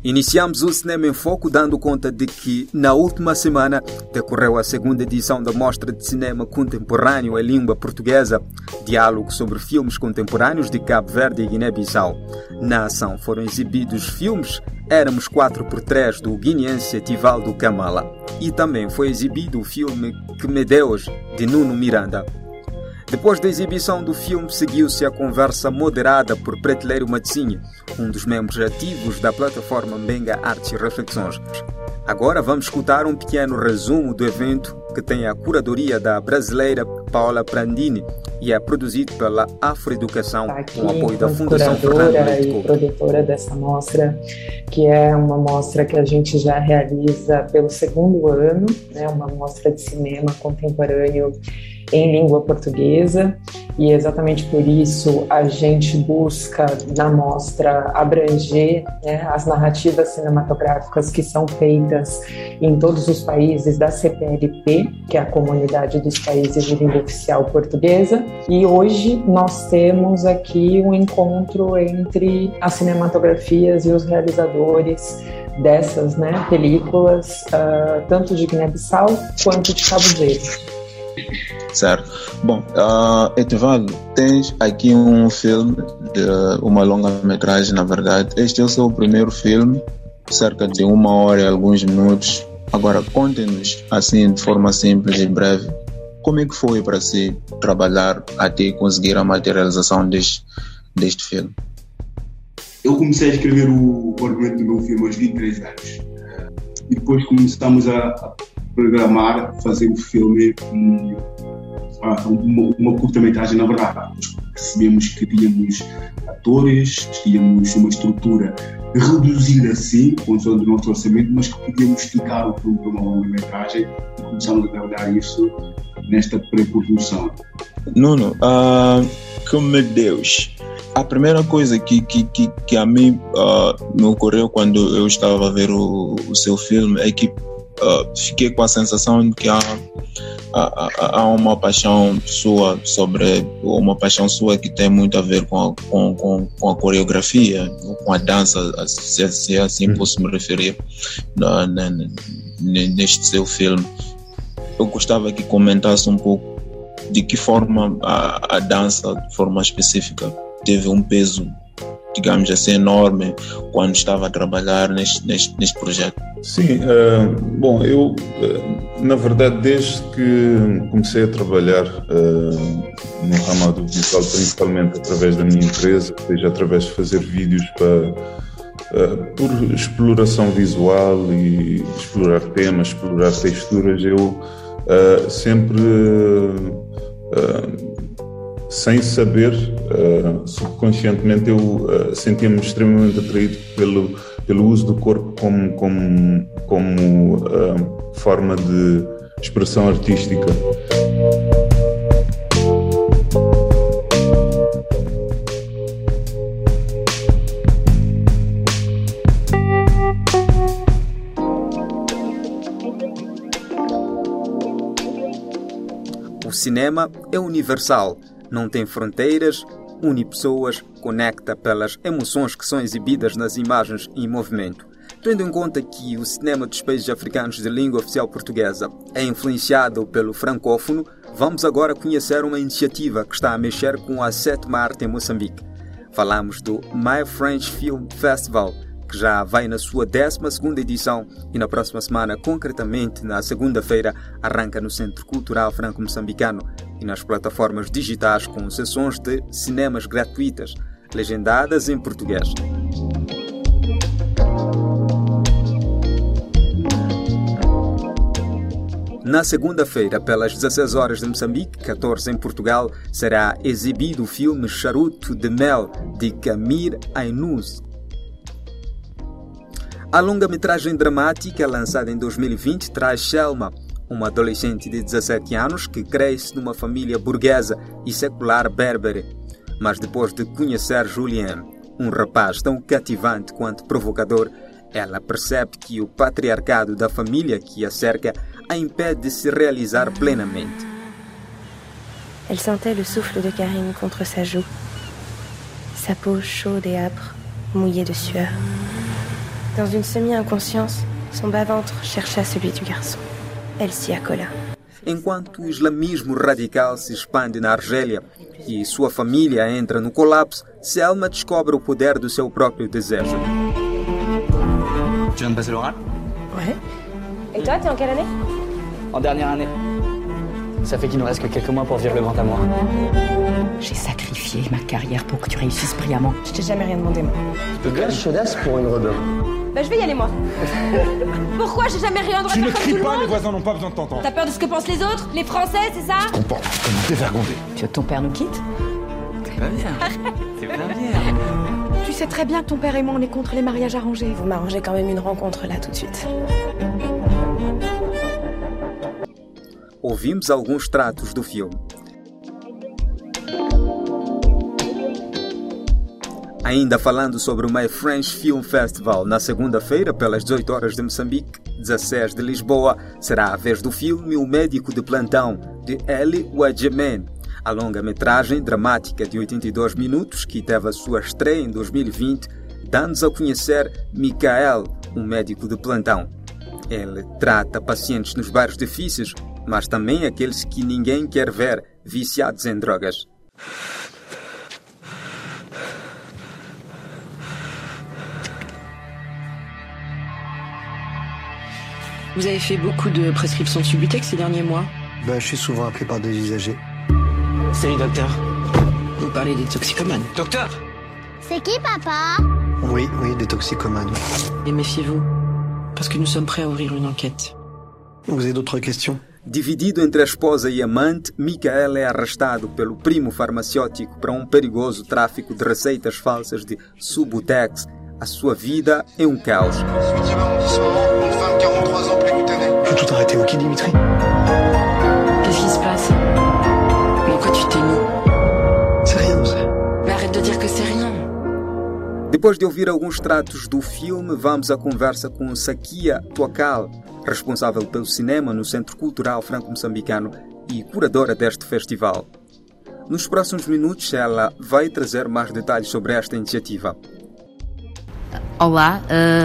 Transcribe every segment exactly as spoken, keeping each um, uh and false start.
Iniciamos o Cinema em Foco dando conta de que, na última semana, decorreu a segunda edição da Mostra de Cinema Contemporâneo em Língua Portuguesa, diálogo sobre filmes contemporâneos de Cabo Verde e Guiné-Bissau. Na ação foram exibidos filmes Éramos quatro por três, do guineense Tivaldo Kamala. E também foi exibido o filme Que Me Deus, de Nuno Miranda. Depois da exibição do filme, seguiu-se a conversa moderada por Prateleiro Matsinho, um dos membros ativos da plataforma Mbenga Artes e Reflexões. Agora vamos escutar um pequeno resumo do evento que tem a curadoria da brasileira Paola Prandini e é produzido pela Afroeducação aqui, com apoio da Fundação Fernando Leite Couto. E produtora dessa mostra, que é uma mostra que a gente já realiza pelo segundo ano, né, uma mostra de cinema contemporâneo em língua portuguesa, e exatamente por isso a gente busca na mostra abranger, né, as narrativas cinematográficas que são feitas em todos os países da C P L P, que é a Comunidade dos Países de Língua Oficial Portuguesa, e hoje nós temos aqui um encontro entre as cinematografias e os realizadores dessas, né, películas, uh, tanto de Guiné-Bissau quanto de Cabo Verde. Certo. Bom, uh, Etivaldo, tens aqui um filme, de uma longa-metragem, na verdade. Este é o seu primeiro filme, cerca de uma hora e alguns minutos. Agora, conte-nos, assim, de forma simples e breve, como é que foi para si trabalhar até conseguir a materialização deste, deste filme? Eu comecei a escrever o, o argumento do meu filme aos vinte e três anos. E depois começamos a, a programar, fazer o filme, um, uma, uma curta-metragem, na verdade. Percebemos que tínhamos atores, tínhamos uma estrutura reduzida assim, com o nosso orçamento, mas que podíamos esticar o filme para uma longa-metragem e começamos a trabalhar isso nesta pré-produção. Nuno, uh, que me Deus! A primeira coisa que, que, que, que a mim uh, me ocorreu quando eu estava a ver o, o seu filme é que Uh, fiquei com a sensação de que há, há, há uma paixão sua sobre uma paixão sua que tem muito a ver com a, com, com, com a coreografia, com a dança, se, se assim posso me referir na, na, neste seu filme. Eu gostava que comentasse um pouco de que forma a, a dança, de forma específica, teve um peso, digamos assim, enorme quando estava a trabalhar neste, neste, neste projeto. Sim, uh, bom, eu, uh, na verdade, desde que comecei a trabalhar uh, no ramo audiovisual, principalmente através da minha empresa, seja através de fazer vídeos para, uh, por exploração visual e explorar temas, explorar texturas, eu uh, sempre... Uh, sem saber, uh, subconscientemente eu uh, sentia-me extremamente atraído pelo, pelo uso do corpo como, como, como uh, forma de expressão artística. O cinema é universal. Não tem fronteiras, une pessoas, conecta pelas emoções que são exibidas nas imagens em movimento. Tendo em conta que o cinema dos países africanos de língua oficial portuguesa é influenciado pelo francófono, vamos agora conhecer uma iniciativa que está a mexer com a sétima arte em Moçambique. Falamos do My French Film Festival, que já vai na sua décima segunda edição e na próxima semana, concretamente na segunda-feira, arranca no Centro Cultural Franco-Moçambicano e nas plataformas digitais com sessões de cinemas gratuitas, legendadas em português. Na segunda-feira, pelas dezesseis horas de Moçambique, catorze em Portugal, será exibido o filme Charuto de Mel, de Camir Ainuz. A longa-metragem dramática, lançada em dois mil e vinte, traz Selma, uma adolescente de dezassete anos que cresce numa família burguesa e secular berbere. Mas depois de conhecer Julien, um rapaz tão cativante quanto provocador, ela percebe que o patriarcado da família que a cerca a impede de se realizar plenamente. Elle sentait le souffle de Karine contre sa joue, sa peau chaude et âpre, mouillée de sueur. Dans une semi-inconscience, son bas-ventre chercha celui du garçon. Elle s'y accola. Enquanto o islamismo radical se expande na Argélia e sua família entra no colapso, Selma descobre o poder do seu próprio desejo. Tu viens de passer l'oral? Ouais. Et toi, t'es en quelle année? En dernière année. Ça fait qu'il nous reste que quelques mois pour vivre le grand amour. J'ai sacrifié ma carrière pour que tu réussisses brillamment. Je t'ai jamais rien demandé, moi. Tu peux chaudasse pour une rebelle. Bah, je vais y aller, moi. Pourquoi j'ai jamais rien droit Tu de ne faire comme cries tout le pas, monde? les voisins n'ont pas besoin de t'entendre. T'as peur de ce que pensent les autres? Les Français, c'est ça? Comporte comme un dévergondé. Tu veux que ton père nous quitte? C'est pas bien. C'est pas bien. Tu sais très bien que ton père et moi, on est contre les mariages arrangés. Vous m'arrangez quand même une rencontre là tout de suite. Ouvimos alguns tratos do filme. Ainda falando sobre o My French Film Festival, na segunda-feira, pelas dezoito horas de Moçambique, dezasseis de Lisboa, será a vez do filme O Médico de Plantão, de Eli Wadjemen. A longa-metragem dramática de oitenta e dois minutos, que teve a sua estreia em dois mil e vinte, dá-nos a conhecer Michael, um médico de plantão. Ele trata pacientes nos bairros difíceis, mas também aqueles que ninguém quer ver viciados em drogas. Vous avez fait beaucoup de prescriptions de Subutex ces derniers mois? Bah, je suis souvent appelé par des usagers. Salut, docteur. Vous parlez des toxicomanes. Docteur! C'est qui, papa? Oui, oui, des toxicomanes. Et méfiez-vous, parce que nous sommes prêts à ouvrir une enquête. Vous avez d'autres questions? Dividido entre a esposa e a amante, Michael é arrastado pelo primo farmacêutico para um perigoso tráfico de receitas falsas de Subutex. A sua vida é um caos. huitième arrondissement, une femme quarante-trois ans précutanée. Faut tout arrêter, ok, Dimitri? Qu'est-ce qui se passe? Dans quoi tu t'es mis? C'est rien, c'est... Mais arrête de dire que c'est rien. Depois de ouvir alguns tratos do filme, vamos à conversa com Sakia Tuakal, responsável pelo cinema no Centro Cultural Franco-Moçambicano e curadora deste festival. Nos próximos minutos, ela vai trazer mais detalhes sobre esta iniciativa. Olá,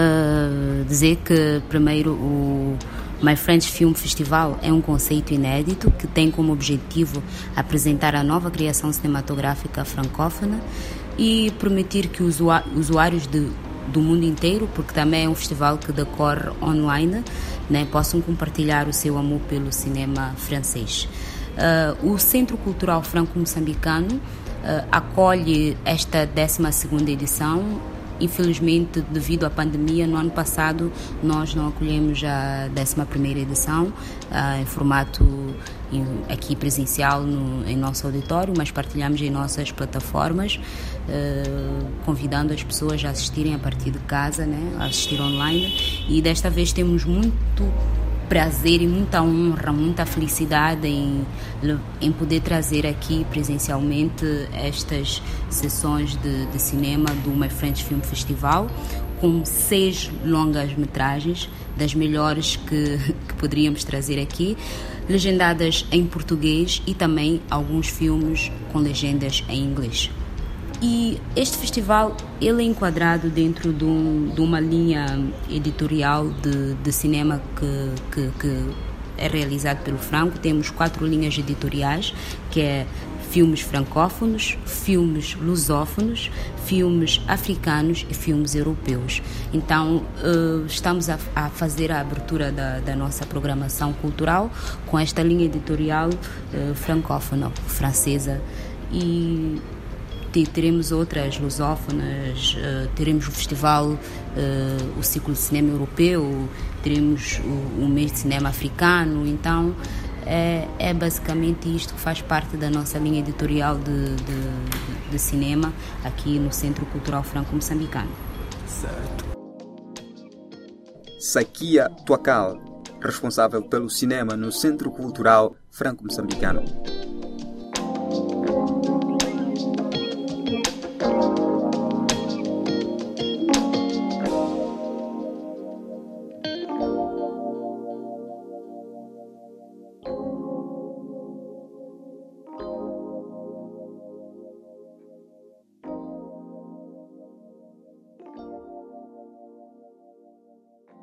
uh, dizer que primeiro o My French Film Festival é um conceito inédito que tem como objetivo apresentar a nova criação cinematográfica francófona e permitir que os usuários de, do mundo inteiro, porque também é um festival que decorre online, né, possam compartilhar o seu amor pelo cinema francês. Uh, o Centro Cultural Franco-Moçambicano uh, acolhe esta décima segunda edição. Infelizmente, devido à pandemia, no ano passado nós não acolhemos a décima primeira edição uh, em formato em, aqui presencial no, em nosso auditório, mas partilhamos em nossas plataformas, uh, convidando as pessoas a assistirem a partir de casa, né, a assistir online. E desta vez temos muito prazer e muita honra, muita felicidade em, em poder trazer aqui presencialmente estas sessões de, de cinema do My French Film Festival, com seis longas-metragens, das melhores que, que poderíamos trazer aqui, legendadas em português e também alguns filmes com legendas em inglês. E este festival ele é enquadrado dentro de, um, de uma linha editorial de, de cinema que, que, que é realizado pelo Franco. Temos quatro linhas editoriais, que é filmes francófonos, filmes lusófonos, filmes africanos e filmes europeus. Então, uh, estamos a, a fazer a abertura da, da nossa programação cultural com esta linha editorial uh, francófona, francesa, e teremos outras lusófonas, uh, teremos o festival, uh, o ciclo de cinema europeu, teremos o, o mês de cinema africano. Então é, é basicamente isto que faz parte da nossa linha editorial de, de, de cinema aqui no Centro Cultural Franco-Moçambicano. Certo. Sakia Tuakal, responsável pelo cinema no Centro Cultural Franco-Moçambicano.